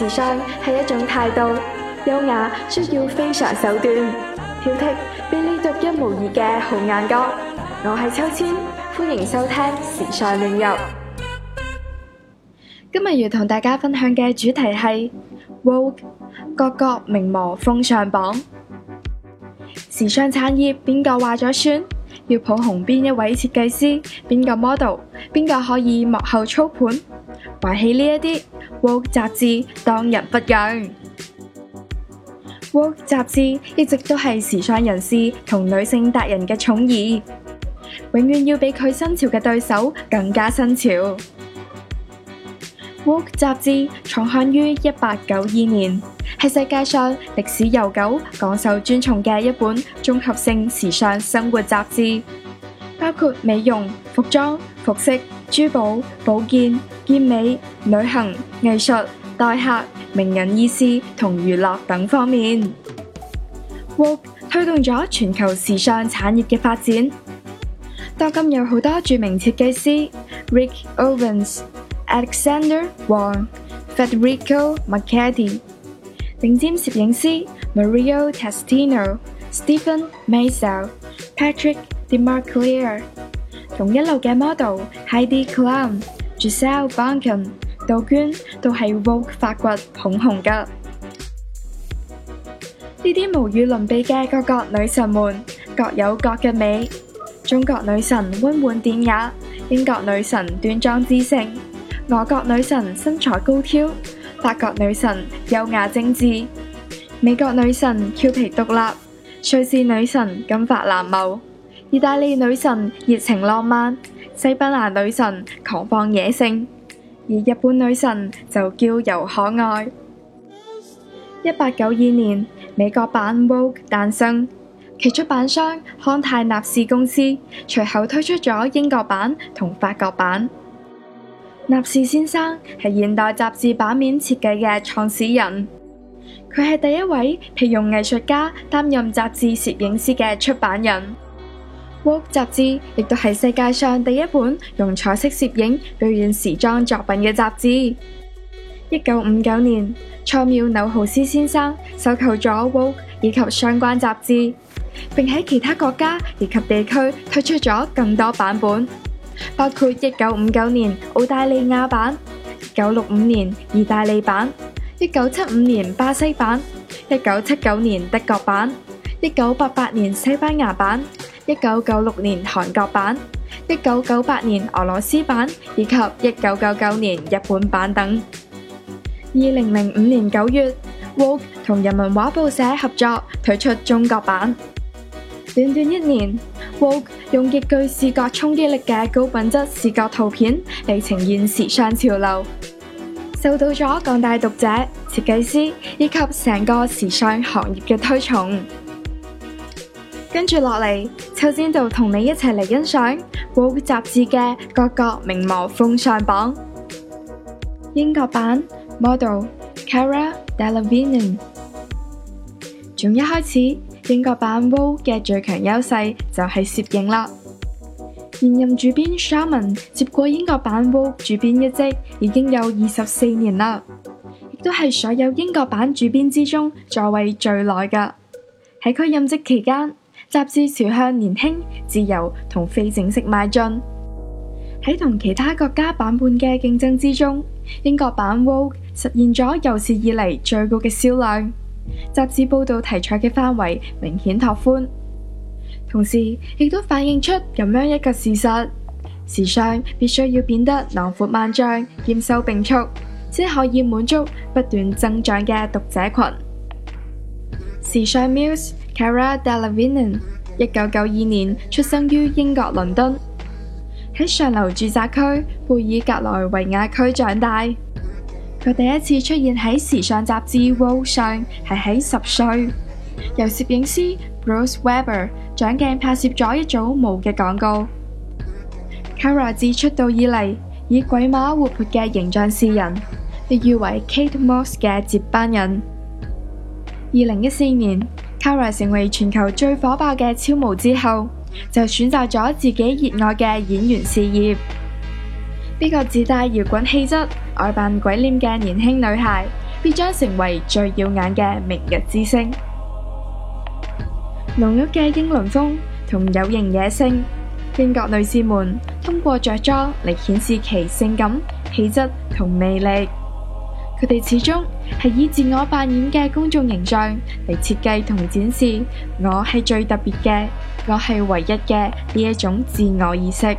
時尚係一種態度，優雅需要非常手段，挑剔俾你獨一無二嘅好眼光。我係秋千，歡迎收聽時尚亂入。今日要同大家分享嘅主題係 Vogue 各國名模風尚榜。時尚產業邊個話咗算？要捧紅邊一位設計師，邊個 model， 邊個可以幕後操盤？話起呢一啲 Vogue 雜誌當仁不讓。Vogue 雜誌一直都係時尚人士同女性達人嘅寵兒，永遠要比佢新潮嘅對手更加新潮。Vogue 雜誌創刊於1892年，係世界上歷史悠久、廣受尊崇嘅一本綜合性時尚生活雜誌，包括美容、服裝、服飾、珠寶、保健、健美、旅行、藝術、待客、名人軼事同娛樂等方面。Vogue 推動咗全球時尚產業嘅發展，當今有好多著名設計師 Rick Owens、Alexander Wang、Federico Marchetti， 頂尖攝影師 Mario Testino、Stephen Meisel、Patrick DeMarcliere， 同一流嘅 model Heidi Klum、Gisele Bündchen、杜娟都係 Vogue 發掘捧紅㗎。呢啲無與倫比嘅各國女神們各有各嘅美，中國女神溫婉典雅，英國女神端莊知性，俄國女神身材高挑，法國女神優雅精緻，美國女神俏皮獨立，瑞士女神金髮藍眸，意大利女神熱情浪漫，西班牙女神狂放野性，而日本女神就嬌柔可愛。1892年，美國版 Vogue 誕生，其出版商康泰納仕公司隨後推出咗英國版同法國版。納仕先生係現代雜誌版面設計嘅創始人，佢係第一位聘用藝術家擔任雜誌攝影師嘅出版人。Vogue 雜誌亦都係世界上第一本用彩色攝影表現時裝作品嘅雜誌。1959年，菜繆紐豪斯先生收購咗 Vogue 以及相關雜誌，並喺其他國家以及地區推出咗更多版本，包括1959年澳大利亞版、1965年意大利版、1975年巴西版、1979年德國版、1988年西班牙版、1996年韓國版、1998年俄羅斯版以及1999年日本版等。2005年9月，Vogue 同人民畫報社合作推出中國版。短短一年， Vogue 用極具視覺衝擊力嘅高品質視覺圖片嚟呈現時尚潮流，受到咗廣大讀者、設計師以及成個時尚行業嘅推崇。跟住落嚟，秋千就同你一齊嚟欣賞 Vogue 雜誌嘅各國名模風尚榜。英國版Model Cara Delevingne。從一開始，英國版 Vogue 嘅最強優勢就係攝影啦。現任主編 Sharman 接過英國版 Vogue 主編一職已經有24年啦，亦都係所有英國版主編之中在位最耐㗎。喺佢任職期間，雜誌朝向年輕、自由同非正式邁進。喺同其他國家版本嘅競爭之中，英國版 Vogue 實現咗有史以嚟最高嘅銷量，雜誌報道題材嘅範圍明顯拓寬，同時亦都反映出咁樣一個事實：時尚必須要變得囊括萬象、兼收並蓄，先可以滿足不斷增長嘅讀者群。時尚 Muse Cara Delevingne 1992年出生於英國倫敦，喺上流住宅區貝爾格萊維亞區長大。佢第一次出現喺時尚雜誌 Vogue 上係喺10歲，由攝影師 Bruce Weber 掌鏡拍攝咗一組毛嘅廣告。Cara 自出道以嚟以鬼馬活潑嘅形象示人，被譽為 Kate Moss 嘅接班人。2014年，Cara 成為全球最火爆嘅超模之後，就選擇咗自己熱愛嘅演員事業。呢個自帶搖滾氣質、愛扮鬼臉嘅年輕女孩， 必將成為最耀眼嘅明日之星。濃郁嘅英倫風同有型野性，英國女士們通過着裝嚟顯示其性感、氣質同魅力。佢哋始終係以自我扮演嘅公眾形象嚟設計同展示我係最特別嘅，我係唯一嘅呢一種自我意識。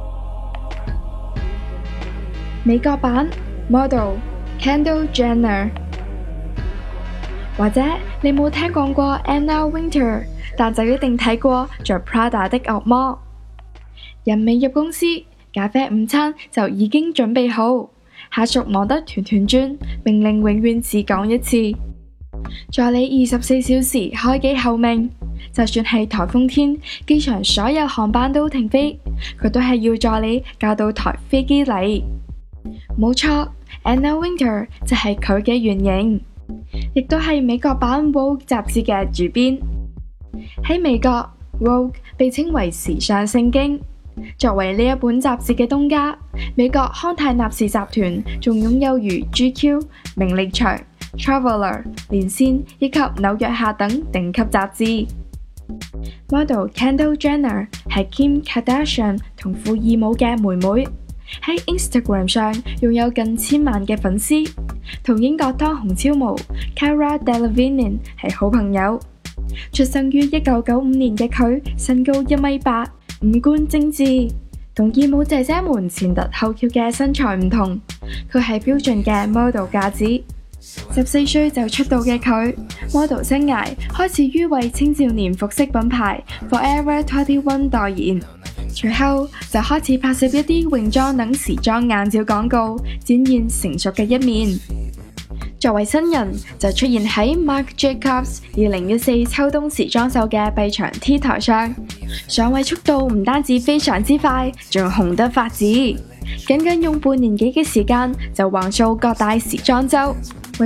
美國版 model Kendall Jenner， 或者你冇聽講過 Anna Wintour， 但就一定睇過着 Prada 的惡魔。人未入公司，咖啡午餐就已經準備好。下屬忙得團團轉，命令永遠只講一次。助理24小時開機候命，就算係颱風天，機場所有航班都停飛，佢都係要助理教到台飛機嚟。冇錯， Anna Wintour 就係佢嘅原型，亦都係美國版 Vogue 雜誌嘅主編。喺美國 Vogue 被稱為時尚聖經。作為呢一本雜誌嘅東家，美國康泰納仕集團仲擁有如 GQ、名利場、Traveler、連線以及紐約客等頂級雜誌。Model Kendall Jenner 係 Kim Kardashian 同富爾姆嘅妹妹，喺 Instagram 上擁有近1000萬嘅粉絲，同英國當紅超模 Cara Delevingne 係好朋友。出生於1995年嘅佢，身高1米8。五官精緻，同義母姐姐們前凸後翹嘅身材唔同，佢係標準嘅 model 架子。14歲就出道嘅佢 ，model 生涯開始於為青少年服飾品牌 Forever 21代言，隨後就開始拍攝一啲泳裝等時裝硬照廣告，展現成熟嘅一面。作為新人，就出現喺 Marc Jacobs 2014秋冬時裝秀嘅臂長 T 台上，上位速度唔單止非常之快，仲紅得發紫，僅用半年幾嘅時間就橫掃各大時裝周，為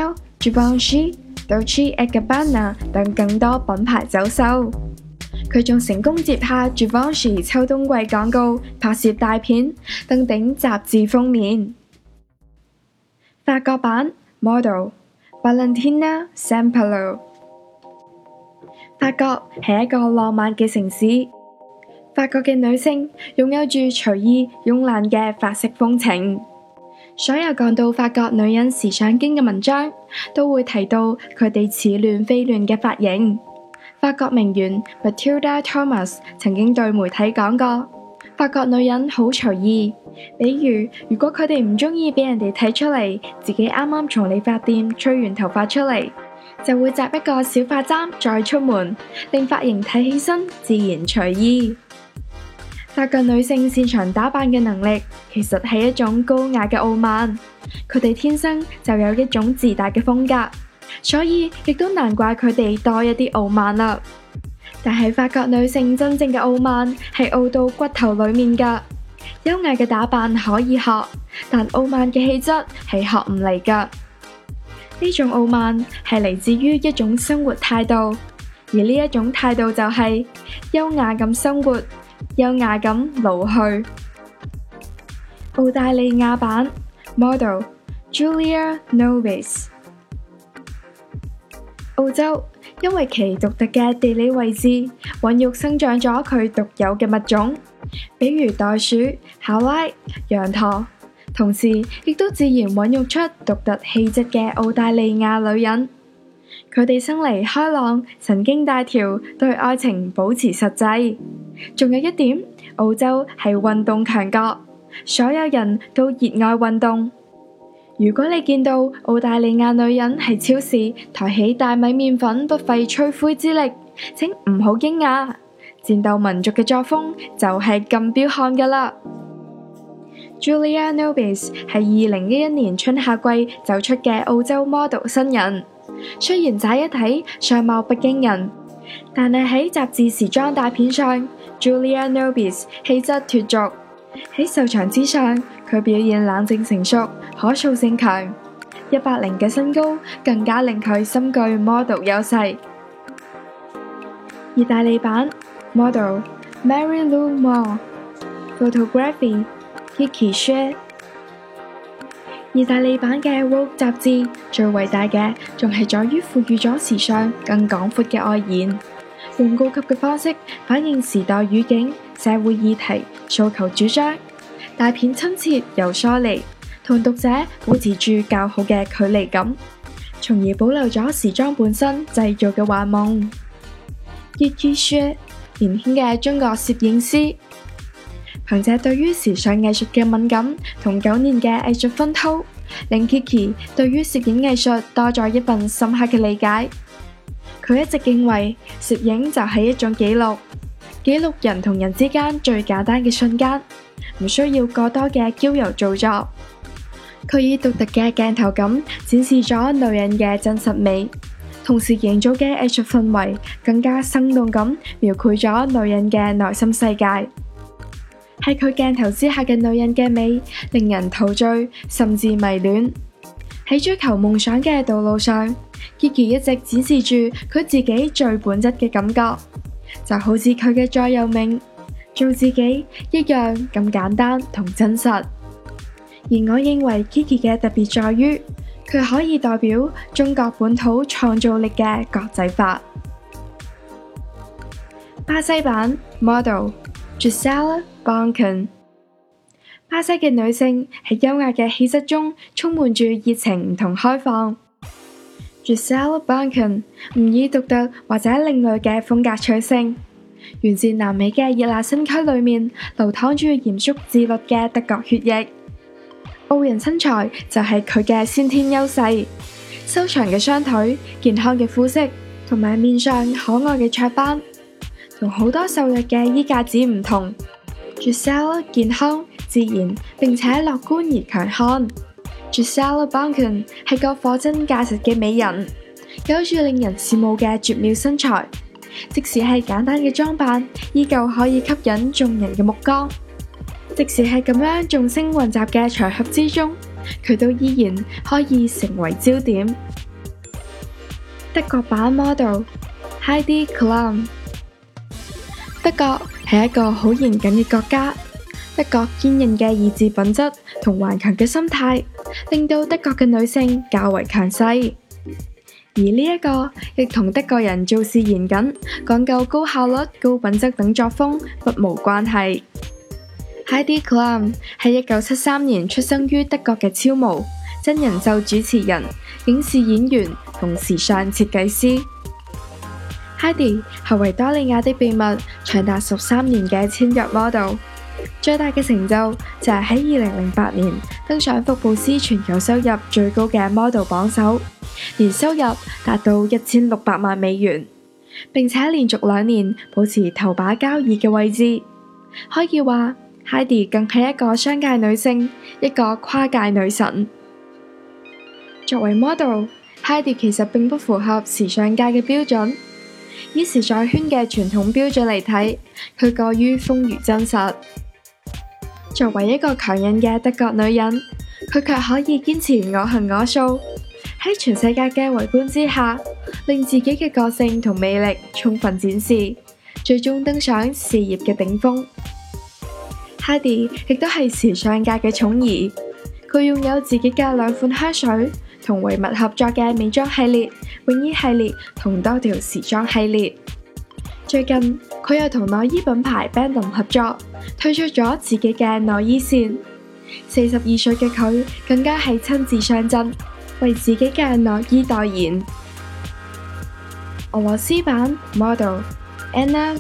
Chanel、Givenchy、Dolce & Gabbana 等更多品牌走秀。佢仲成功接下 Givenchy 秋冬季廣告，拍攝大片，登頂雜誌封面。法國版Model Valentina Saint-Pelloux。 法國係一個浪漫嘅城市，法國嘅女性擁有住隨意慵懶嘅法式風情。所有講到法國女人時尚經嘅文章，都會提到佢哋似亂非亂嘅髮型。法國名媛 Mathilda Thomas 曾經對媒體講過，法國女人好隨意。比如，如果佢哋唔中意俾人哋睇出嚟自己啱啱從理髮店吹完頭髮出嚟，就會紮一個小髮簪再出門，令髮型睇起身自然隨意。法國女性擅長打扮嘅能力，其實係一種高雅嘅傲慢，佢哋天生就有一種自大嘅風格，所以亦都難怪佢哋多一啲傲慢啦。但係法國女性真正嘅傲慢係傲到骨頭裏面㗎。優雅嘅打扮可以學，但傲慢嘅氣質係學唔嚟㗎。呢種傲慢係嚟自於一種生活態度，而呢一種態度就係優雅咁生活，優雅咁老去。澳大利亞版 Model Julia Nobis。 澳洲因為其獨特嘅地理位置，孕育生長咗佢獨有嘅物種，比如袋鼠、考拉、羊駝，同時亦都自然孕育出獨特氣質嘅澳大利亞女人。佢哋生嚟開朗、神經大條，對愛情保持實際。仲有一點，澳洲係運動強國，所有人都熱愛運動。如果你見到澳大利亞女人喺超市抬起大米麵粉不費吹灰之力，請唔好驚訝，戰鬥民族嘅作風就係咁彪悍㗎喇。Julia Nobis 係2011年春夏季走出嘅澳洲 model 新人，雖然乍一睇相貌不驚人，但係喺雜誌時裝大片上 ，Julia Nobis 氣質脫俗。喺秀場之上，佢表現冷靜成熟，可塑性強。180嘅身高更加令佢深具 model 優勢。意大利版 Model Mary Lou More。 Photography Kiki Shea。 意大利版嘅 Vogue 雜誌最偉大嘅，仲係在於賦予咗時尚更廣闊嘅外延，用高級嘅方式反映時代語境、社會議題、訴求主張，大片親切又疏離，同讀者保持住較好嘅距離感，從而保留咗時裝本身製造嘅幻夢。葉玉雪，年輕嘅中國攝影師，憑借對於時尚藝術嘅敏感同9年嘅藝術熏陶，令 Kiki 對於攝影藝術多咗一份深刻嘅理解。佢一直認為攝影就係一種記錄，記錄人同人之間最簡單嘅瞬間，唔需要過多嘅嬌柔造作。佢以獨特嘅鏡頭感展示咗女人嘅真實美，同時營造嘅藝術氛圍更加生動咁描繪咗女人嘅內心世界。喺佢鏡頭之下嘅女人嘅美，令人陶醉甚至迷戀。喺追求夢想嘅道路上，Kiki 一直展示住佢自己最本質嘅感覺，就好似佢嘅座右銘，做自己一樣咁簡單同真實。而我認為 Kiki 嘅特別在於，佢可以代表中國本土創造力嘅國際化。巴西版 model Gisele Bündchen。巴西嘅女性喺優雅嘅氣質中充滿住熱情同開放。Gisele Bündchen 唔以獨特或者另類嘅風格取勝，源自南美嘅熱辣身軀裏面流淌住嚴肅自律嘅德國血液。傲人身材就係佢嘅先天優勢，修長嘅雙腿、健康嘅膚色同埋面上可愛嘅雀斑，同好多瘦弱嘅衣架子唔同。Gisele 健康、自然並且樂觀而強悍。Gisele Bündchen 係個貨真價實嘅美人，有住令人羨慕嘅絕妙身材，即使係簡單嘅裝扮，依舊可以吸引眾人嘅目光。即使係咁樣眾星雲集嘅場合之中，佢都依然可以成為焦點。德國版 model Heidi Klum。德國係一個好嚴謹嘅國家，德國堅韌嘅意志品質同頑強嘅心態，令到德國嘅女性較為強勢。而呢一個亦同德國人做事嚴謹、講究高效率、高品質等作風不無關係。Heidi Klum 係1973年出生於德國嘅超模、真人秀主持人、影視演員同時尚設計師。Heidi 係維多利亞的秘密長達13年嘅簽約 model， 最大嘅成就就係喺2008年登上福布斯全球收入最高嘅 model 榜首，年收入達到1600萬美元，並且連續2年保持頭把交椅嘅位置。可以話Heidi 更係一個商界女性，一個跨界女神。作為 model， Heidi 其實並不符合時尚界嘅標準。以時尚圈嘅傳統標準嚟睇，佢過於豐腴真實。作為一個強韌嘅德國女人，佢卻可以堅持我行我素，喺全世界嘅圍觀之下，令自己嘅個性同魅力充分展示，最終登上事業嘅頂峰。Heidi 亦都係時尚界嘅寵兒，佢擁有自己嘅2款香水，同維密合作嘅美妝系列、泳衣系列同多條時裝系列。最近佢又同內衣品牌 Bandom 合作，推出咗自己嘅內衣線。42歲嘅佢更加係親自上陣，為自己嘅內衣代言。俄羅斯版 model Anna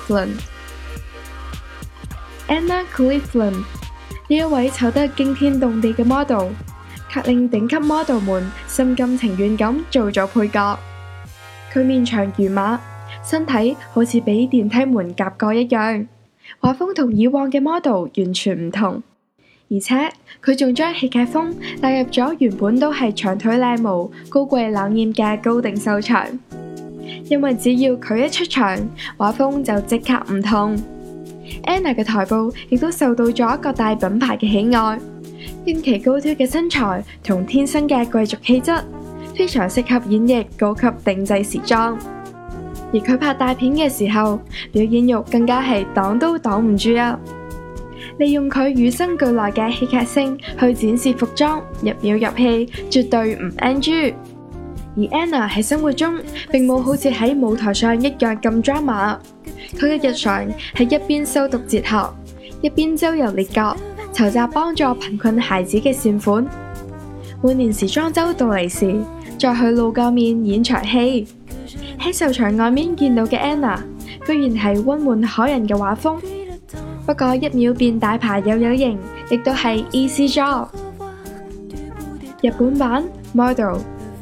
Cleveland。Anna Cleveland 呢一位醜得驚天動地嘅 model， 卻令頂級 model 們心甘情願咁做咗配角。佢面長如馬，身體好似俾電梯門夾過一樣，畫風同以往嘅 model 完全唔同。而且佢仲將戲劇風帶入咗原本都係長腿靚模、高貴冷艷嘅高定秀場。因為只要佢一出場，畫風就即刻唔同。Anna 嘅台步亦都受到咗各大品牌嘅喜愛，因其高挑嘅身材同天生嘅貴族氣質，非常適合演繹高級定製時裝。而佢拍大片嘅時候，表演欲更加係擋都擋唔住啊！ 利用佢與生俱來嘅戲劇性去展示服裝，入表入戲，絕對唔 NG。而 Anna 喺生活中並冇好似喺舞台上一樣咁 drama， 佢嘅日常係一邊修讀哲學，一邊周遊列國，籌集幫助貧困孩子嘅善款。每年時裝周到嚟時，再去露個面演場戲。喺秀場外面見到嘅 Anna， 居然係溫婉可人嘅畫風，不過一秒變大牌又有型，亦都係 easy job。日本版 model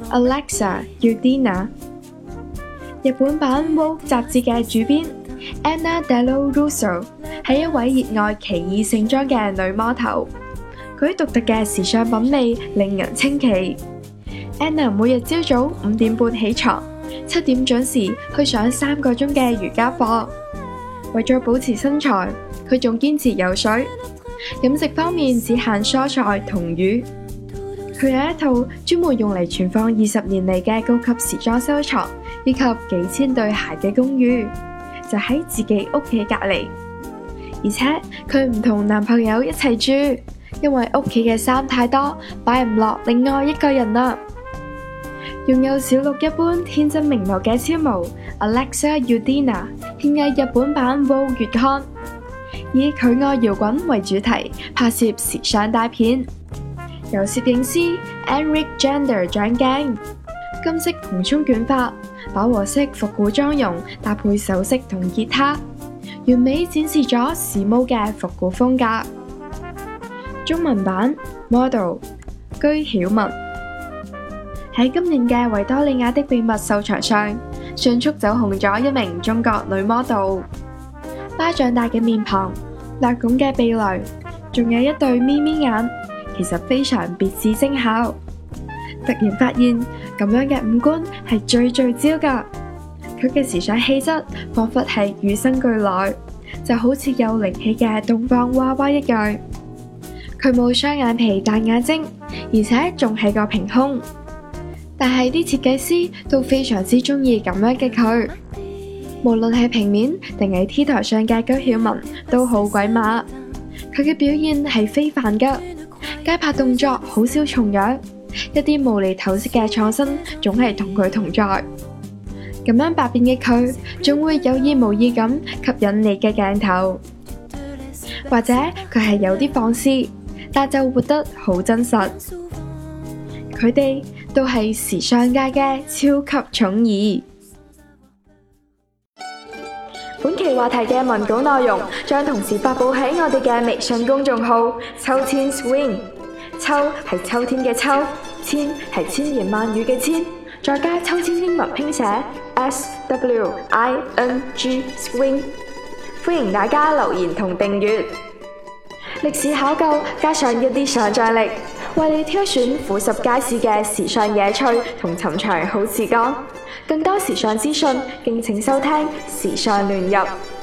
Alexa Udina， 日本版 Vogue 雜誌嘅主編 Anna Dello Russo 係一位熱愛奇異盛裝嘅女魔頭，佢獨特嘅時尚品味令人稱奇。Anna 每日朝早5點半起床，7點準時去上3個鐘嘅瑜伽課。為咗保持身材，佢仲堅持游水。飲食方面只限蔬菜同魚。佢有一套專門用嚟存放20年嚟嘅高級時裝收藏，以及幾千對鞋嘅公寓，就喺自己屋企隔籬。而且佢唔同男朋友一齊住，因為屋企嘅衫太多，擺唔落另外一個人啦。擁有小鹿一般天真明眸嘅超模 Alexa Udina 獻藝日本版 Vogue 月刊，以佢愛搖滾為主題拍攝時尚大片。由攝影師 Enric Jander 掌鏡，金色蓬鬆捲髮，飽和式復古妝容搭配首飾同吉他，完美展示咗時髦嘅復古風格。中文版 Model 居曉雯喺今年嘅維多利亞的秘密秀場上，迅速走紅咗一名中國女 model。巴掌大嘅面龐，略拱嘅鼻梁，仲有一對咪咪眼。其實非常別致精巧，突然發現咁樣嘅五官係最聚焦㗎。佢嘅時尚氣質彷彿係與生俱來，就好似有靈氣嘅東方娃娃一樣。佢冇雙眼皮大眼睛，而且仲係個平胸。但係啲設計師都非常之中意咁樣嘅佢，無論係平面定係 T 台上嘅居曉雯都好鬼馬。佢嘅表現係非凡㗎。街拍動作好少重樣，一啲無厘頭式嘅創新總係同佢同在。咁樣百變嘅佢，總會有意無意咁吸引你嘅鏡頭。或者佢係有啲放肆，但就活得好真實。佢哋都係時尚界嘅超級寵兒。本期話題嘅文稿內容將同時發佈喺我哋嘅微信公眾號秋千 swing， 秋係秋天嘅秋，千係千言萬語嘅千，再加秋千英文拼寫 SWING swing。歡迎大家留言同訂閱。歷史考究加上一啲想像力，為你挑選俯拾皆是嘅時尚野趣同尋常好時光。更多時尚資訊，敬請收聽時尚亂入。